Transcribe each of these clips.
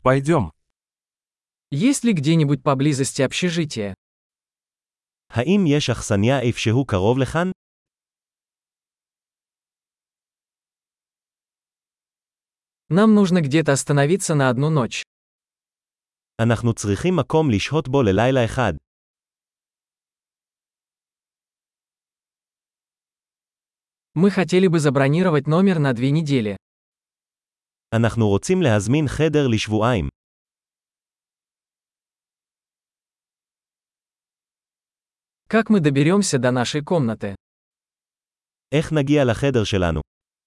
Пойдем. Есть ли где-нибудь поблизости общежитие? האם יש אכסניה איפשהו קרוב לכאן? Нам нужно где-то остановиться на одну ночь. אנחנו צריכים מקום לשהות בו ללילה אחד. Мы хотели бы забронировать номер на 2 недели. אנחנו רוצים להזמין חדר לשבועיים. Как мы доберемся до нашей комнаты? איך נגיע לחדר שלנו?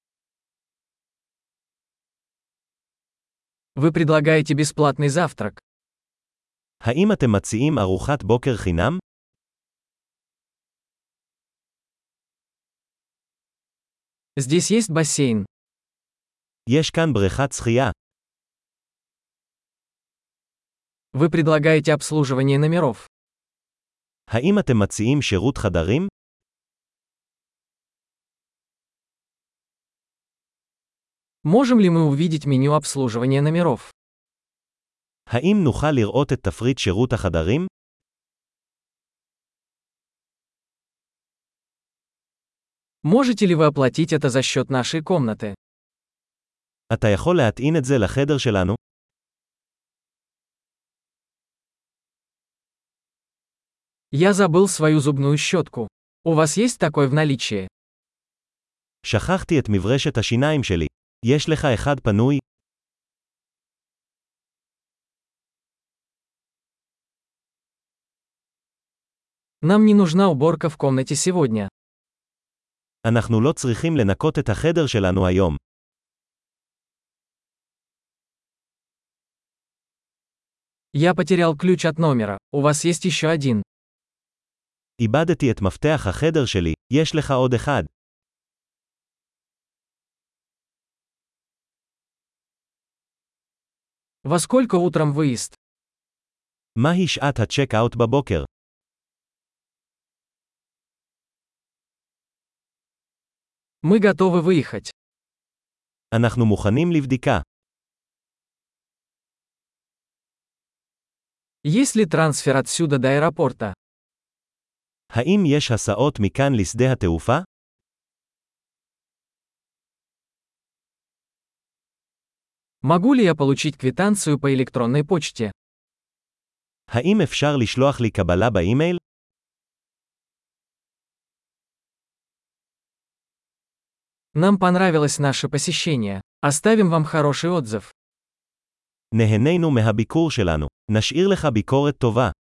Вы предлагаете бесплатный завтрак. האם אתם מציעים ארוחת בוקר חינם? Здесь есть бассейн. יש כאן בריכת שחייה. Вы предлагаете обслуживание номеров. האם אתם מציעים שירות חדרים? Можем ли мы увидеть меню обслуживания номеров? האם נוכל לראות את תפריט שירות החדרים? Можете ли вы оплатить это за счет нашей комнаты? אתה יכול להטעין את זה לחדר שלנו? Я забыл свою зубную щетку. У вас есть такой в наличии? שכחתי את מברשת השיניים שלי. יש לך אחד פנוי? Нам не нужна уборка в комнате сегодня. אנחנו לא צריכים לנקות את החדר שלנו היום. Я потерял ключ от номера. У вас есть еще один. איבדתי את מפתח החדר שלי. יש לך עוד אחד. Во сколько утром выезд? מהי שעת הצ'ק-אאוט בבוקר? Мы готовы выехать. אנחנו מוכנים לבדיקה. Есть ли трансфер отсюда до аэропорта? האם יש הסעות מכאן לשדה התעופה? Могу ли я получить квитанцию по электронной почте? האם אפשר לשלוח לי קבלה באימייל? Нам понравилось наше посещение. Оставим вам хороший отзыв. נהנינו מהביקור שלנו. נשאיר לך ביקורת טובה.